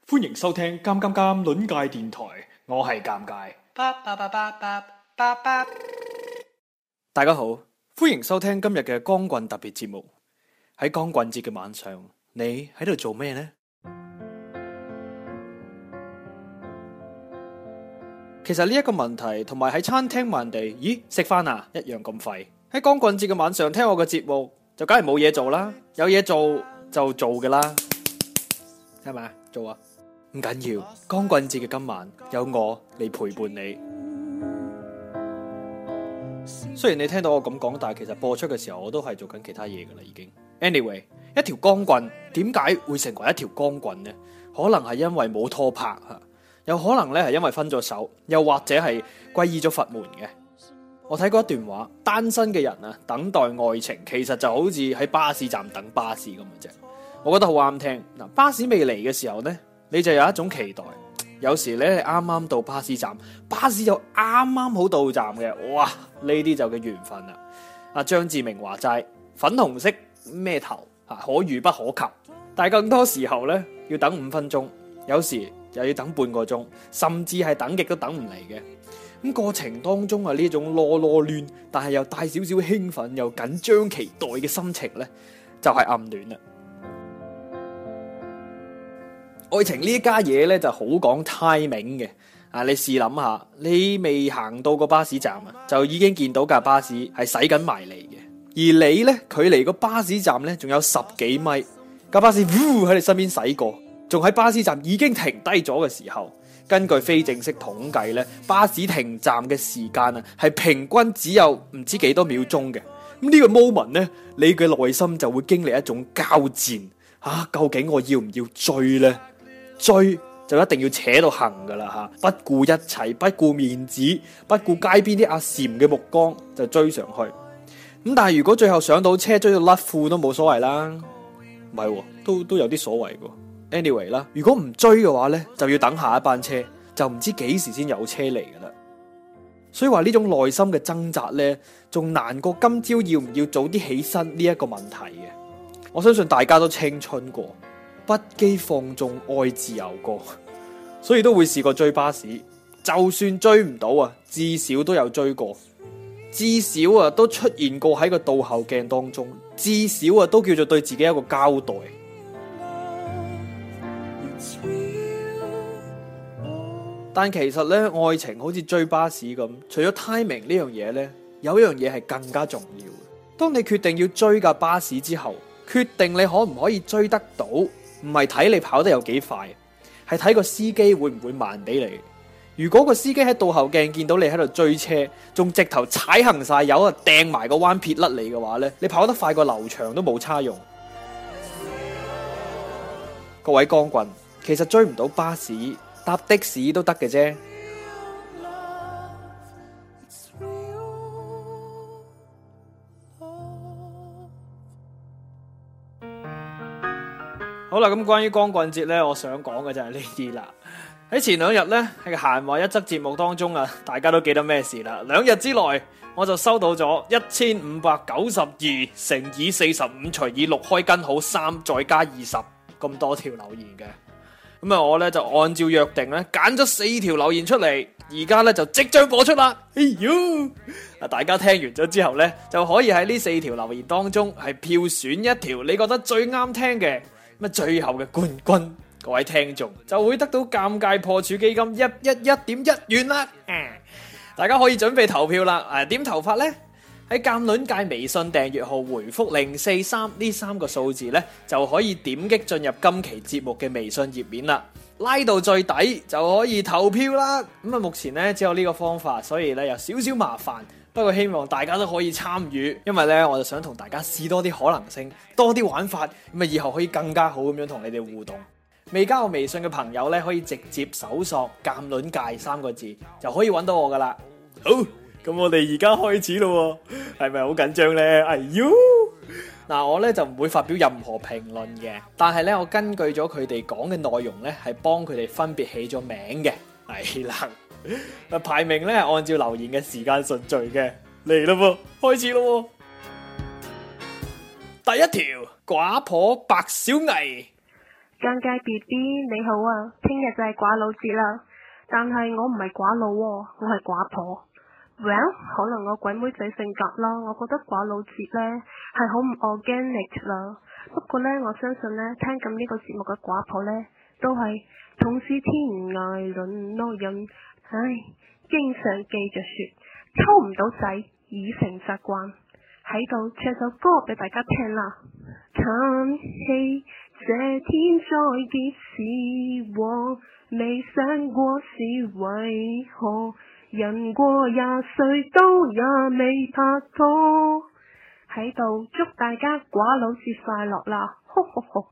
歡迎收聽《尷尷尷》論界電台，我係尷尬。大家好，歡迎收聽今日嘅光棍特別節目。喺光棍節嘅晚上，你喺度做咩呢？其實呢一個問題同埋喺餐廳問人哋，咦，食飯啊，一樣咁廢。喺光棍節嘅晚上聽我嘅節目，就梗係冇嘢做啦。有嘢做就做㗎啦，係咪？做啊！唔緊要，光棍節嘅今晚有我嚟陪伴你。雖然你聽到我咁講，但係其實播出嘅時候我都係做緊其他嘢噶啦，已經。Anyway， 一條光棍點解會成為一條光棍呢？可能係因為冇拖拍吓，有可能咧係因為分咗手，又或者係皈依咗佛門嘅。我睇過一段話，單身嘅人啊，等待愛情其實就好似喺巴士站等巴士咁嘅啫。我覺得好啱聽。嗱，巴士未嚟嘅時候呢，你就有一種期待。有時咧啱啱到巴士站，巴士又啱啱好到站嘅，哇！呢啲就叫緣分啦。阿張志明話齋，粉紅色咩頭啊，可遇不可求。但係更多時候咧，要等5分鐘，有時又要等半個鐘，甚至係等極都等唔嚟嘅。咁過程當中啊，呢種囉囉攣，但係又帶少少興奮又緊張期待嘅心情咧，就係暗戀啦。愛情呢一家嘢咧就好講 timing 嘅，你試諗下，你未行到個巴士站啊，就已經見到架巴士係駛緊埋嚟嘅，而你咧距離個巴士站咧仲有10幾米，架巴士喺你身邊駛過，仲喺巴士站已經停低咗嘅時候，根據非正式統計咧，巴士停站嘅時間啊係平均只有唔知幾多秒鐘嘅。咁呢個 moment 咧，你嘅內心就會經歷一種交戰啊，究竟我要唔要追呢？追就一定要扯到行噶啦吓，不顧一切，不顧面子，不顧街邊啲阿禪嘅目光就追上去。咁但係如果最後上到車追到甩褲都冇所謂啦，唔係都有啲所謂嘅。Anyway 啦，如果唔追嘅話呢，就要等下一班車，就唔知幾時先有車嚟噶啦。所以話呢種內心嘅掙扎呢，仲難過今朝要唔要早啲起身呢一個問題嘅。我相信大家都青春過，不羈放縱愛自由過，所以都會試過追巴士。就算追唔到啊，至少都有追過，至少啊都出現過喺個倒後鏡當中，至少啊都叫做對自己一個交代。但其實咧，愛情好似追巴士咁，除咗 timing 呢樣嘢咧，有一樣嘢係更加重要嘅。當你決定要追架巴士之後，決定你可唔可以追得到，唔係睇你跑得有幾快，係睇個司機會唔會慢俾你。如果個司機喺倒後鏡見到你喺度追車，仲直頭踩行晒油啊，掟埋個彎撇甩你嘅話咧，你跑得快過劉翔都冇差用。各位光棍，其實追唔到巴士，搭的士都得嘅啫。好啦，咁關於光棍節呢，我想講嘅就係呢啲啦。喺前2日呢，喺閒話一則節目當中啊，大家都記得咩事啦。2日之內，我就收到咗1592乘以45除以6開根號3再加20咁多條留言嘅。咁啊，我咧就按照約定咧揀咗4條留言出嚟，而家咧就即將播出啦。哎喲，大家聽完咗之後咧，就可以喺呢4條留言當中係票選一條你覺得最啱聽嘅，咁最後嘅冠軍，各位聽眾就會得到尷尬破處基金111.1元啦。大家可以準備投票啦。點投法呢？喺鑑論界微信訂閱號回覆043呢3個數字咧，就可以點擊進入今期節目嘅微信頁面啦，拉到最底就可以投票啦。咁啊，目前咧只有呢個方法，所以咧有少少麻煩，不過希望大家都可以參與，因為咧我就想同大家試多啲可能性，多啲玩法，咁啊以後可以更加好咁樣同你哋互動。未加我微信嘅朋友咧，可以直接搜索鑑論界3個字就可以揾到我噶啦。好。咁我哋而家開始咯，係咪好緊張呢？哎喲，嗱，我咧就唔會發表任何評論嘅，但係咧我根據咗佢哋講嘅內容咧，係幫佢哋分別起咗名嘅。係啦，排名咧係按照留言嘅時間順序嘅。嚟咯噃，開始咯。第一條，寡婆白小藝。 尷尬 BB 你好啊，聽日就係寡佬節啦，但係我唔係寡佬喎，我係寡婆。Well， 可能我鬼妹仔性格啦，我覺得寡佬節呢係好唔 organic 啦。不過呢，我相信呢，聽緊呢個節目嘅寡婆呢，都係同是天涯淪落人，唉，經常記着說，抽唔到仔已成習慣，喺度唱首歌俾大家聽啦。嘆氣這天再結是禍，未想過是為何，人過20歲都也未拍拖，喺度祝大家寡佬節快樂啦！呵呵呵。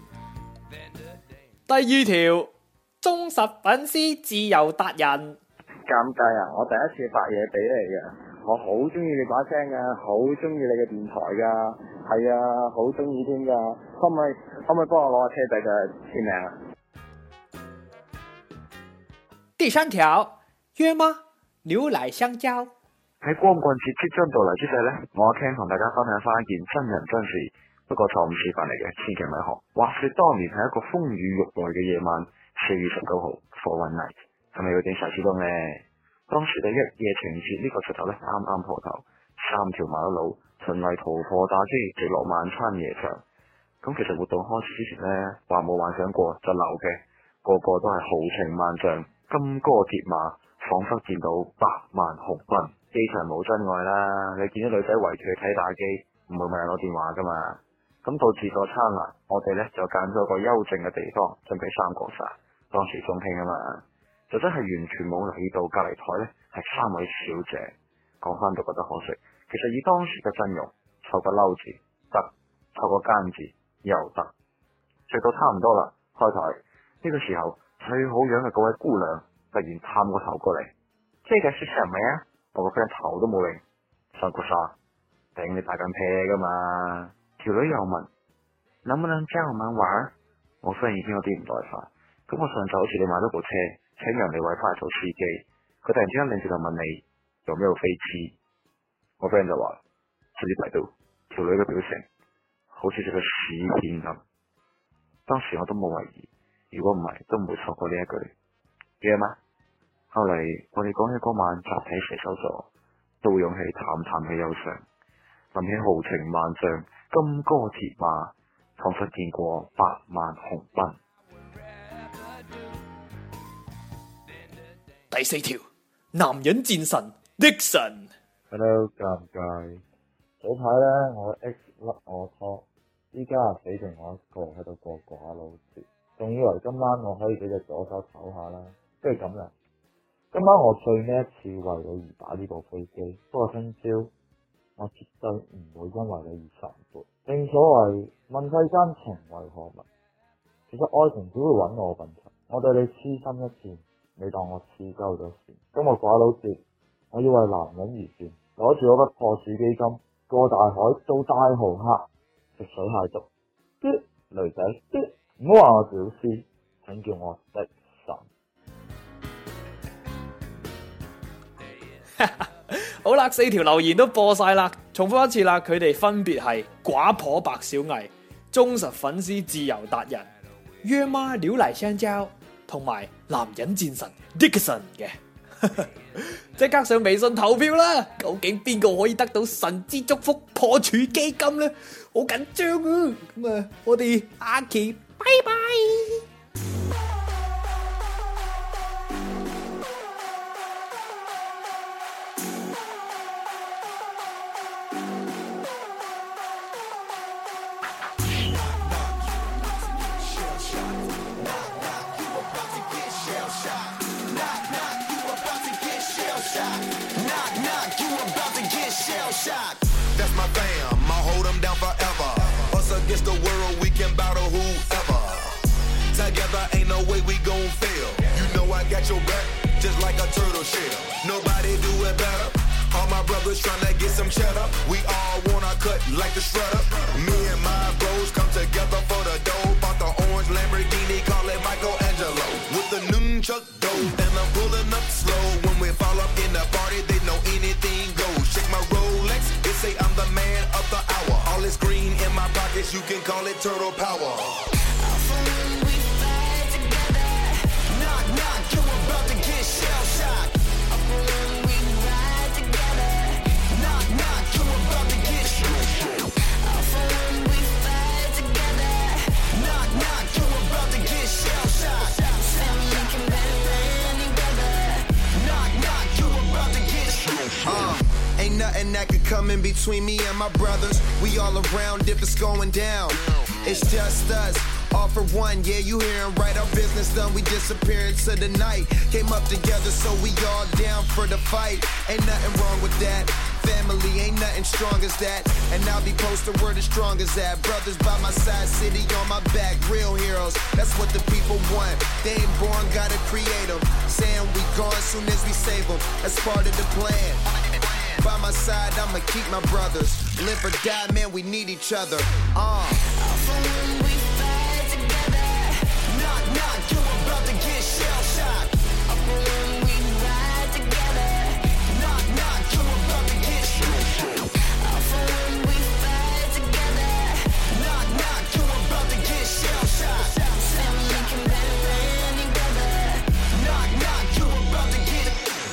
第二條，忠實粉絲自由達人。 尷尬啊！我第一次發嘢俾你嘅，我好中意你把聲噶，好中意你嘅電台噶，係啊，好中意添噶，可唔可以幫我攞個車仔嘅簽名啊？ 第三條，約嗎？牛奶香蕉。 喺光棍節即將到嚟之際呢，我阿 Ken 同大家分享翻一件真人真事，不過錯誤示範嚟嘅，千祈咪學。話說當年係一個風雨欲來嘅夜晚，4月19號 for one night， 係咪有點小激動呢？當時嘅一夜情節呢個噱頭呢，啱啱破頭，3條馬路循例逃破打機，直落晚餐夜場。咁其實活動開始之前呢，話冇幻想過就流嘅，個個都係豪情萬丈，金戈鐵馬，仿佛見到百萬雄軍。機場冇真愛啦，你見啲女仔圍住去睇打機，唔會問人攞電話噶嘛。咁到自助餐啦，我哋呢就揀咗個幽靜嘅地方，準備3個殺。當時中興啊嘛，就真係完全冇留意到隔離台呢係3位小姐。講翻都覺得可惜，其實以當時嘅陣容，湊個嬲字得，湊個奸字又得。直到差唔多啦，開台呢個時候，最好樣嘅嗰位姑娘突然探個頭過嚟，這個是什麼呀？我個 friend 頭都冇擰，上個沙頂你大緊啤噶嘛？條女又問，能不能教我們玩？我 friend 已經有啲唔耐煩，咁我上晝好似你買咗部車，請人哋位翻嚟做司機，佢突然之間擰住就問你有沒有飛機？我 friend 就話自己睇到條女嘅表情，好似隻個屎片咁。當時我都冇懷疑，如果唔係都唔會錯過呢一句約嗎？後嚟我哋講起嗰晚集體射手座，都會湧起淡淡嘅憂傷，諗起豪情萬丈，金戈鐵馬，仿佛見過百萬雄奔。 第4條，男人戰神 Dixon。Hello， 尷尬。早排呢，我 X 甩我拖，依家死剩我一個喺度過寡佬節，仲以為今晚我可以俾隻左手唞下啦，不如咁啦。今晚我最尾一次為你而打呢部飛機，不過聽朝我絕對唔會因為你而神活。正所謂問世間情為何物，其實愛情只會揾我笨柒。我對你痴心一戰，你當我痴鳩咗線。今日寡佬節，我要為男人而戰，攞住我筆破處基金，過大海做大豪客，食水蟹粥。啲女仔啲，唔好話我屌絲，請叫我的神。 好啦，4條留言都播晒啦，重複一次啦，佢哋分別係寡婆白小藝、忠實粉絲自由達人、約嗎牛奶香蕉同埋男人戰神 Dixon 嘅。即刻上微信投票啦！究竟邊個可以得到神之祝福破處基金呢？好緊張啊！咁啊，我哋下期拜拜。 That's my fam, I'll hold them down forever. Us against the world, we can battle whoever. Together ain't no way we gon' fail. You know I got your back, just like a turtle shell. Nobody do it better. All my brothers tryna get some cheddar. We all wanna cut like the shredder. Me and my bros come together for the dough. Bought the orange Lamborghini, call it Michelangelo. With the nunchuck dough, and I'm pulling up slow. When we fall up in the party, they know anything goes. Shake my Rolex, they say I'm the man of the hour. All this green in my pockets, you can call it turtle power. coming between me and my brothers. We all around if it's going down. It's just us. All for one, yeah, you hearin' right. Our business done, we disappear into the night. Came up together, so we all down for the fight. Ain't nothing wrong with that. Family ain't nothing strong as that. And I'll be posted where the strong as that. Brothers by my side, city on my back. Real heroes, that's what the people want. They ain't born, gotta create them. Saying we gone soon as we save them. That's part of the plan. By my side, I'ma keep my brothers. Live or die, man, we need each other. You about to get shell shocked. When we ride together, knock knock, you about to get shell shocked. When we fight together, knock knock, you about to get shell shocked. Family can band together, knock knock, you about to get.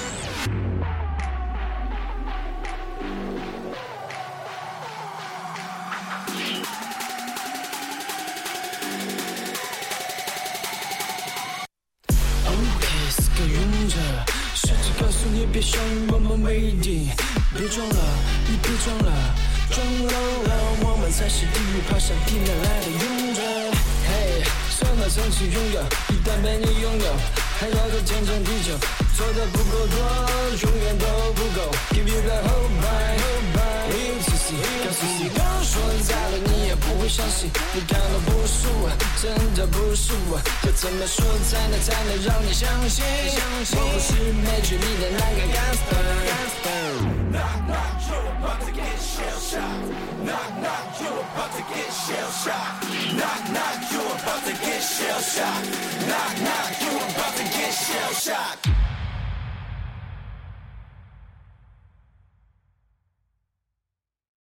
告诉你别想慢慢没底，别装了，你别装了，装老了，我们才是地狱爬上地面来的勇者。嘿，什么曾经拥有，一旦被你拥有，还要做天长地久，做的不够多，永远都不够。Give you the whole bye，一次性，告诉你刚说在了，你也不会相信，你看到不是我，真的不是我，要怎么说才能让你相信？我不是美剧里的那个 gangster。Knock knock, you about to get shell shocked. Knock knock, you about to get shell shocked. Knock knock, you about to get shell shocked. Knock knock, you about to get shell shocked.